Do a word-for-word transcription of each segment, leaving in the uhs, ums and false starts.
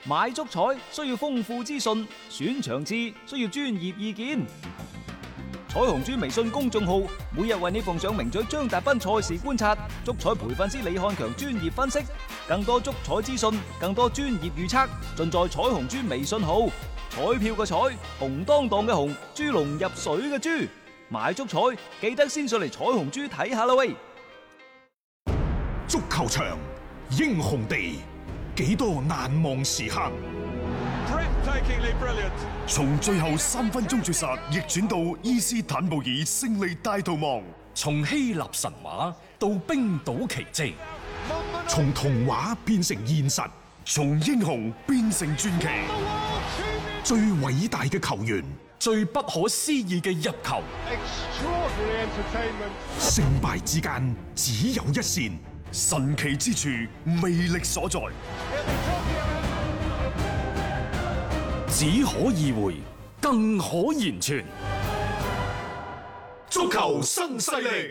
買足彩需要豐富資訊，選場次需要專業意見。彩虹豬微信公眾號每日為你奉上名嘴張達斌賽事觀察、足彩培訓師李漢強專業分析，更多足彩資訊、更多專業預測，盡在彩虹豬微信號。彩票嘅彩，紅當當嘅紅，豬籠入水嘅豬，買足彩記得先上嚟彩虹豬睇下啦喂！ 足球場，英雄地，幾多難忘時刻。從最後三分鐘絕殺逆轉到伊斯坦布爾勝利大逃亡， 從希臘神話到冰島奇蹟， 從童話變成現實，從英雄變成傳奇。最偉大嘅球員， 最不可思議嘅入球， 勝敗之間只有一線，神奇之處魅力所在。 只可意會，更可言傳。 足球新勢力，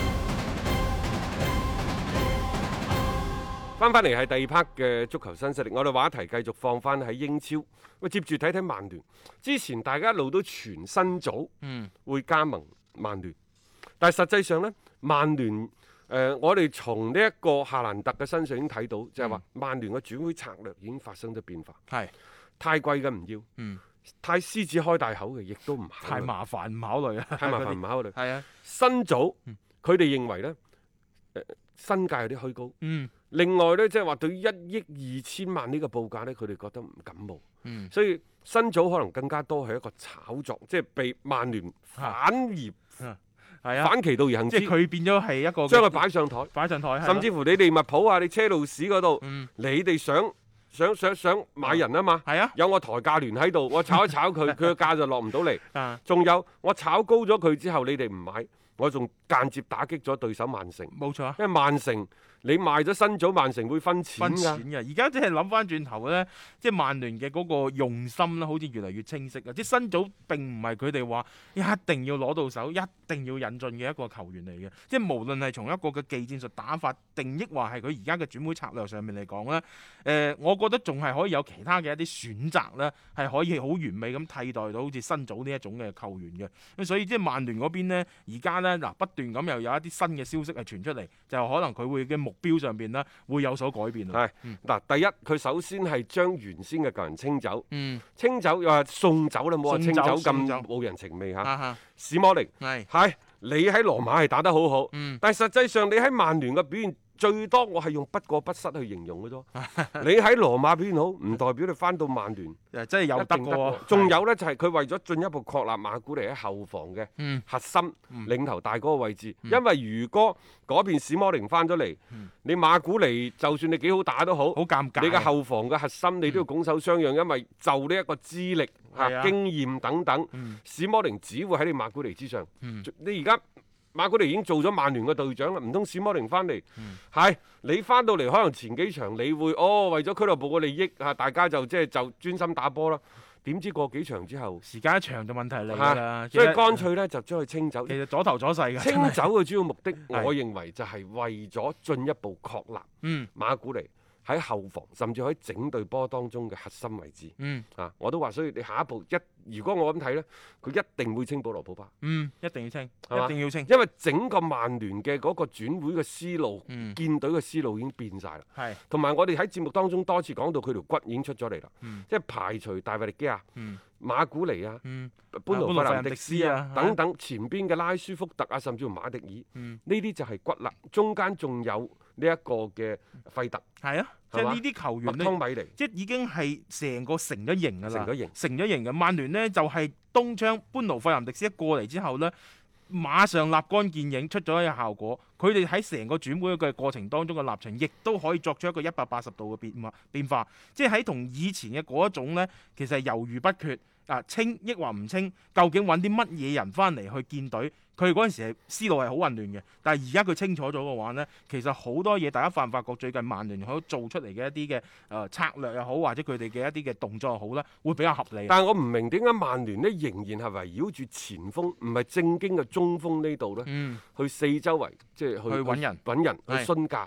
翻翻嚟係第二 part 嘅足球新勢力，我哋話題繼續放翻喺英超。喂，接住睇睇曼聯。之前大家一路都傳新組，嗯，會加盟曼聯，但係實際上呢，曼聯誒、呃，我哋從呢一個夏蘭特嘅身上已經睇到，就係話曼聯嘅轉會策略已經發生咗變化。係、嗯、太貴嘅唔要，嗯，太獅子開大口嘅亦都唔考慮， 太麻煩唔考慮啊， 太麻煩唔考慮。 係啊， 新組佢哋認為呢，誒、呃、身價有啲虛高， 嗯。 另外呢，即係話對於一億二千萬呢個報價呢，佢哋覺得唔感冒，嗯、所以新組可能更加多係一個炒作，即係被曼聯反而係啊，啊反其道而行之， 即係佢變咗係一個將佢擺上台， 擺上台， 甚至乎你利物浦啊，你車路士嗰度，嗯、你哋想想想想買人啊嘛， 係啊， 有我抬價聯喺度，我炒一炒佢，佢嘅價就落唔到嚟，仲有我炒高咗佢之後，你哋唔買，我仲間接打擊咗對手曼城， 冇錯， 因為曼城。你賣咗新組，曼城會分錢㗎。 而家即係諗翻轉頭咧，即係曼聯嘅嗰個用心咧，好似越嚟越清晰啊！即係新組並唔係佢哋話一定要攞到手，一定要引進嘅一個球員嚟嘅。即係無論係從一個嘅技戰術打法，定抑或係佢而家嘅轉會策略上面嚟講咧，誒、呃，我覺得仲係可以有其他嘅一啲選擇咧，係可以好完美咁替代到好似新組呢一種嘅球員嘅。咁所以即係曼聯嗰邊咧，而家咧嗱不斷咁又有一啲新嘅消息係傳出嚟，就可能佢會嘅目標上邊呢會有所改變。 係嗱、嗯，第一佢首先係將原先嘅舊人清走， 嗯、清走又話送走啦，冇話清走咁冇人情味嚇。史摩寧係係你喺羅馬係打得好好，嗯、但係實際上你喺曼聯嘅表現。最多我係用不過不失去形容嘅啫。你喺羅馬表現好，唔代表你翻到曼聯誒真係有得喎。 仲有呢，就係佢為咗進一步確立馬古尼喺後防嘅核心、 嗯、 領頭大嗰個位置。嗯、因為如果嗰邊史摩寧翻咗嚟，嗯、你馬古尼就算你幾好打都好， 好尷尬。 你嘅後防嘅核心你都要拱手相讓，嗯、因為就呢一個資歷、啊啊、經驗等等，嗯、史摩寧只會喺你馬古尼之上。嗯、你而家。馬古尼已經做咗曼聯嘅隊長啦，唔通史摩寧翻嚟？係、嗯、你翻到嚟，可能前幾場你會哦，為咗俱樂部嘅利益啊，大家就即係就專心打波啦。點知過幾場之後， 時間一長就問題嚟啦。 所以乾脆咧就將佢清走。 其實左頭左勢嘅。 清走嘅主要目的，我認為就係為咗進一步確立嗯馬古尼喺後防，甚至喺整隊波當中嘅核心位置。嗯啊，我都話，所以你下一步一。如果我咁睇呢，佢一定會清保羅普巴。 嗯，一定要清， 吧一定要清。 因為整個曼聯嘅嗰個轉會嘅思路， 嗯、 建隊嘅思路已經變晒啦。 係是， 同埋我哋喺節目當中多次講到佢條骨已經出咗嚟啦。 嗯、 即係排除大衛力基亞、 嗯、馬古尼啊、 嗯、 班奴費蘭迪斯啊， 啊等等，前邊嘅拉舒福特啊，甚至乎馬迪爾，呢啲、嗯、就係骨啦。中間仲有呢一個嘅費特。 係啊。即係呢啲球員咧，即係已經係成個成咗型㗎啦， 成咗型， 成咗型嘅。曼聯呢就係、是、東窗班奴費南迪斯一過嚟之後呢，馬上立竿見影，出咗一個效果。佢哋喺成個轉會嘅過程當中嘅立場，亦都可以作出一個一百八十度嘅變化變化。即係喺同以前嘅嗰一種呢，其實係猶豫不決啊，清抑或唔清，究竟揾啲乜嘢人翻嚟去建隊？佢嗰陣時係思路係好混亂嘅，但係而家佢清楚咗嘅話呢，其實好多嘢大家發唔發覺最近曼聯可以做出嚟嘅一啲嘅誒策略又好，或者佢哋嘅一啲嘅動作又好咧，會比較合理。 但係我唔明點解曼聯呢仍然係圍繞住前鋒，唔係正經嘅中鋒呢度呢，嗯、去四周圍即係去去揾人、 揾人去詢價。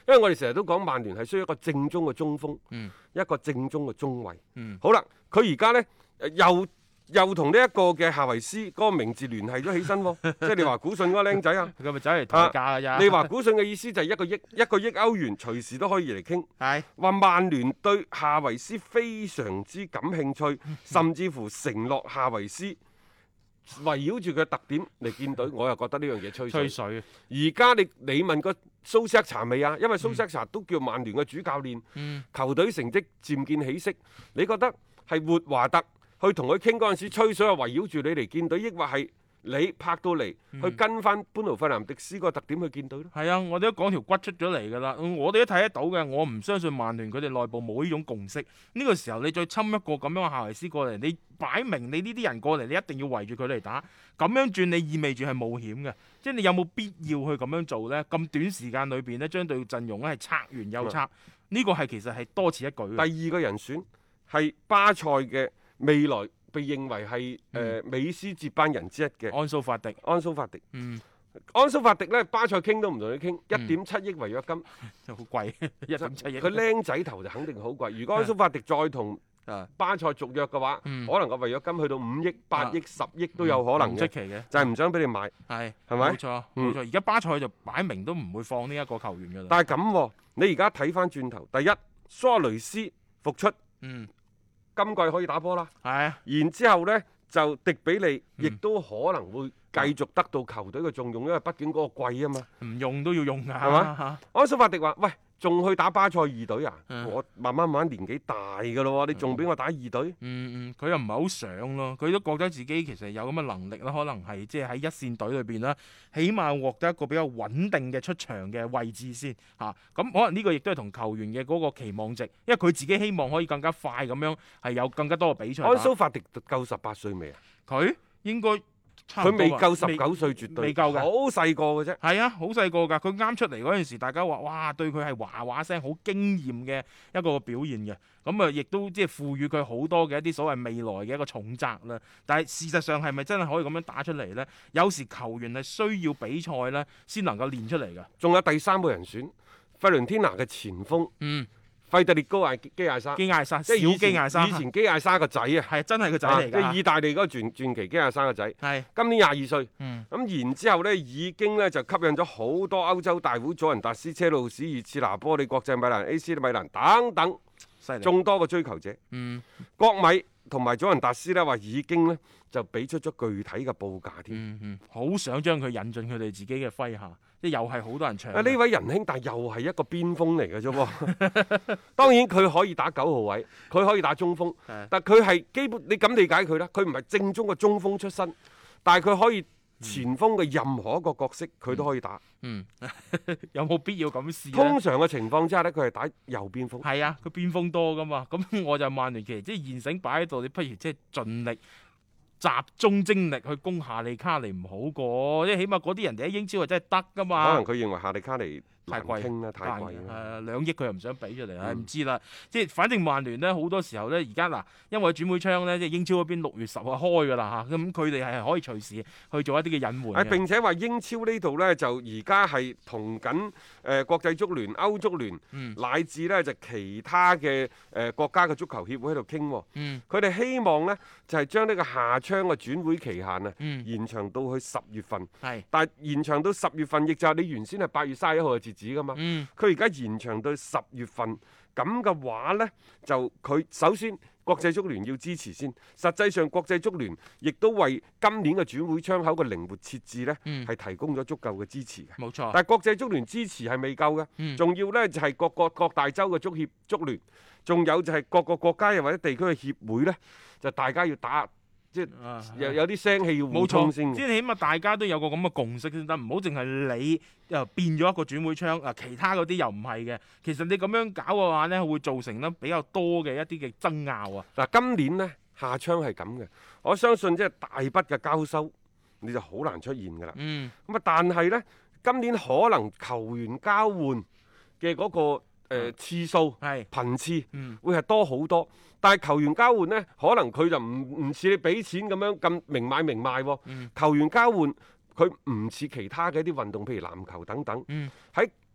因為我哋成日都講曼聯係需要一個正宗嘅中鋒， 嗯、 一個正宗嘅中衞。 嗯、 好啦，佢而家呢，又又同呢一個嘅夏維斯嗰個名字聯繫咗起身喎，即係你話古信嗰個僆仔啊， 佢咪走嚟抬價㗎咋？ 你話古信嘅意思就係一個億一個億歐元，隨時都可以嚟傾。 係話曼聯對夏維斯非常之感興趣，甚至乎承諾夏維斯圍繞住佢嘅特點嚟建隊，我又覺得呢樣嘢吹水。 吹水。 而家你你問個蘇斯克查未啊？因為蘇斯克查都叫曼聯嘅主教練， 嗯、 球隊成績漸見起色。你覺得係活華特去同佢傾嗰陣時吹水，係圍繞住你嚟建隊，抑或係你拍到嚟、嗯、去跟翻班奴費南迪斯個特點去建隊咧？ 係啊，我哋都講條骨出咗嚟㗎啦，我哋都睇得到嘅。我唔相信曼聯佢哋內部冇呢種共識。呢、呢個時候你再侵一個咁樣嘅夏維斯過嚟，你擺明你呢啲人過嚟，你一定要圍住佢嚟打。咁樣轉你意味住係冒險嘅，即係你有冇必要去咁樣做呢？咁短時間裏邊呢，將隊陣容咧係拆完又拆，呢、嗯、個係其實係多此一舉。 第二個人選係巴塞嘅未來被認為係誒、呃嗯、美斯接班人之一嘅安蘇法迪。 安蘇法迪， 嗯， 安蘇法迪咧，巴塞傾都唔同佢傾，一點七億違約金， 就好貴，一點七億。 佢僆仔頭就肯定好貴。如果安蘇法迪再同巴塞續約嘅話， 嗯、 可能個違約金去到五億、八億、十億都有可能嘅， 唔出奇嘅， 就係唔想俾你買， 係係咪？ 冇錯，冇錯。而家、嗯、巴塞就擺明都唔會放呢一個球員㗎啦。 但係咁、啊，你而家睇翻轉頭，第一，蘇亞雷斯復出， 嗯， 今季可以打波啦， 係啊， 然之後呢，就迪比利亦都可能會繼續得到球隊嘅重用，因為畢竟嗰個貴啊嘛， 唔用都要用㗎， 係嘛？安蘇法迪話：喂，仲去打巴塞二隊啊？ 嗯、 我慢慢慢慢年紀大㗎咯喎，你仲俾我打二隊？ 嗯嗯，佢又唔係好想咯，佢都覺得自己其實有咁嘅能力啦，可能係即係喺一線隊裏邊啦，起碼獲得一個比較穩定嘅出場嘅位置先嚇。咁、啊、可能呢個亦都係同球員嘅嗰個期望值，因為佢自己希望可以更加快咁樣係有更加多嘅比賽。 安蘇法迪夠十八歲未啊？ 佢應該。 佢未夠十九歲，絕對未夠嘅， 好細個嘅啫。 係啊，好細個㗎。佢啱出嚟嗰陣時，大家話哇，對佢係話話聲好驚豔嘅一個表現嘅。咁啊，亦都即係賦予佢好多嘅一啲所謂未來嘅一個重責啦。但係事實上係咪真係可以咁樣打出嚟呢？有時球員係需要比賽呢，先能夠練出嚟㗎。 仲有第三個人選，費倫天拿嘅前鋒。 嗯。 費特列高艾基亞沙， 基亞沙， 即係小基亞沙， 以前基亞沙個仔啊， 係真係個仔嚟㗎， 即係意大利嗰個傳傳奇基亞沙個仔， 係今年廿二歲，咁、 嗯、 然之後呢，已經呢就吸引咗好多歐洲大會、祖雲達斯、車路士、熱刺、拿波利、國際米蘭、A C 米蘭等等眾多個追求者， 嗯， 國米同埋祖雲達斯呢話已經呢就俾出咗具體嘅報價添， 嗯嗯，好想將佢引進佢哋自己嘅麾下。即又係好多人搶。啊！ 呢位仁兄，但又係一個邊鋒嚟嘅啫喎。當然佢可以打九號位，佢可以打中鋒，但佢係基本你咁理解佢啦。佢唔係正宗嘅中鋒出身，但係佢可以前鋒嘅任何一個角色佢都可以打。 嗯，有冇必要咁試？ 通常嘅情況之下呢，佢係打右邊鋒。 係啊，佢邊鋒多噶嘛。咁我就曼聯其實即係現成擺喺度，你不如即係盡力。集中精力去攻夏利卡尼唔好過，即係起碼嗰啲人哋喺英超係真係得噶嘛。 可能佢認為夏利卡尼太貴啦，太貴啦。 誒兩億佢又唔想俾出嚟，唔、嗯、知啦。即係反正曼聯咧好多時候咧，而家嗱，因為轉會窗咧，即係英超嗰邊六月十號開㗎啦嚇，咁佢哋係可以隨時去做一啲嘅隱瞞。 誒並且話英超呢度咧就而家係同緊誒國際足聯、歐足聯， 嗯、 乃至咧就其他嘅誒、呃、國家嘅足球協會喺度傾。佢哋、嗯、希望咧就係、是、將呢個夏窗嘅轉會期限啊、嗯、延長到去十月份。 係是， 但係延長到十月份，亦就係你原先係八月三十一號嘅截止㗎嘛。佢而家延長到十月份，咁嘅話呢，就佢首先國際足聯要支持先。實際上國際足聯亦都為今年嘅轉會窗口嘅靈活設置呢，係、嗯、提供咗足夠嘅支持嘅。 冇錯。 但係國際足聯支持係未夠嘅，仲、嗯、要呢就係、是、各個各大洲嘅足協足聯，仲有就係各個國家又或者地區嘅協會呢，就大家要打。即係有有啲聲氣要互通先， 即係起碼大家都有個咁嘅共識先得，唔好淨係你又變咗一個轉會窗，啊其他嗰啲又唔係嘅。其實你咁樣搞嘅話呢，會造成呢比較多嘅一啲嘅爭拗啊。 嗱，今年呢，夏窗係咁嘅，我相信即係大筆嘅交收，你就好難出現㗎啦。 嗯。 咁啊，但係呢，今年可能球員交換嘅嗰個。誒、呃、次數係是頻次、嗯、會係多好多，但係球員交換呢，可能佢就唔唔似你俾錢咁樣咁明買明賣喎、哦。嗯、球員交換佢唔似其他嘅一啲運動，譬如籃球等等，喺、嗯、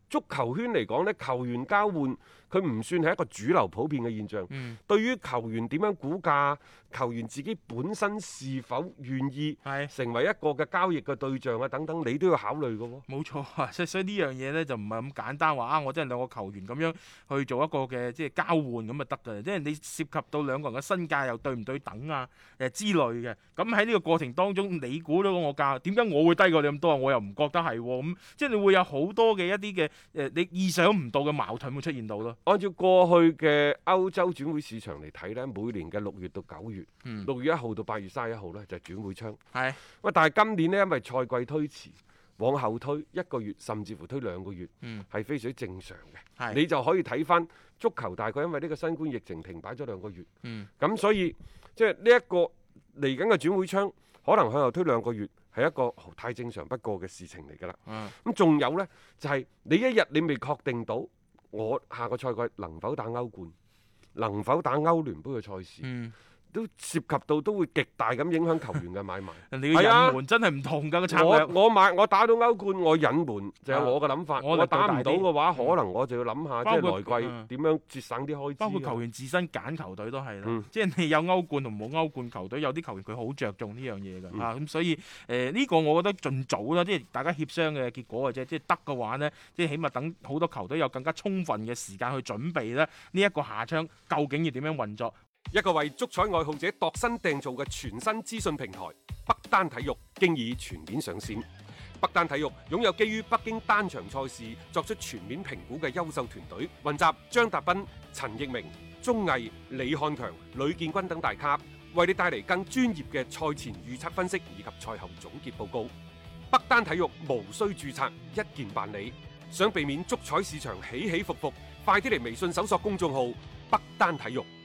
足球圈嚟講呢，球員交換佢唔算係一個主流普遍嘅現象。 嗯、 對於球員點樣估價，球員自己本身是否願意成為一個嘅交易嘅對象啊等等，你都要考慮嘅喎。 冇錯啊，所以所以呢樣嘢呢，就唔係咁簡單話啊，我真係兩個球員咁樣去做一個嘅即係交換咁就得㗎，即係你涉及到兩個人嘅身價又對唔對等啊誒之類嘅。咁喺呢個過程當中，你估到我價，點解我會低過你咁多啊？我又唔覺得係喎，咁即係你會有好多嘅一啲嘅誒你意想唔到嘅矛盾會出現到咯。 按照過去嘅歐洲轉會市場嚟睇呢，每年嘅六月到九月，六、嗯、月一號到八月三十一號呢，就係、是、轉會窗。係，喂，但係今年呢，因為賽季推遲，往後推一個月，甚至乎推兩個月，係、嗯、非常正常嘅。你就可以睇翻足球，大概因為呢個新冠疫情停擺咗兩個月，咁、嗯、所以即係呢一個嚟緊嘅轉會窗，可能向後推兩個月，係一個太正常不過嘅事情嚟㗎啦。咁仲、嗯、有呢，就係、是、你一日你未確定到我下個賽季能否打歐冠，能否打歐聯杯嘅賽事。嗯，都涉及到都會極大咁影響球員嘅買賣。 人哋嘅隱瞞真係唔同㗎個策略。 我我買我打到歐冠，我隱瞞就係我嘅諗法。啊、我，我打唔到嘅話，嗯、可能我就要諗下，即係來季點樣節省啲開支。 包括球員自身揀球隊都係啦。嗯、即係你有歐冠同冇歐冠球隊，有啲球員佢好着重呢樣嘢㗎。嚇咁、嗯啊、所以誒呢、呃呢個我覺得盡早啦，即係大家協商嘅結果嘅啫。即係得嘅話呢，即係起碼等好多球隊有更加充分嘅時間去準備咧。呢、這、一個夏窗究竟要點樣運作？ 一個為足彩愛好者度身訂造嘅全新資訊平台北單體育經已全面上線。北單體育擁有基於北京單場賽事作出全面評估嘅優秀團隊，雲集張達斌、陳奕明、鐘毅、李漢強、呂建軍等大咖，為你帶嚟更專業嘅賽前預測分析以及賽後總結報告。北單體育無需註冊，一鍵辦理。想避免足彩市場起起伏伏，快啲嚟微信搜索公眾號北單體育。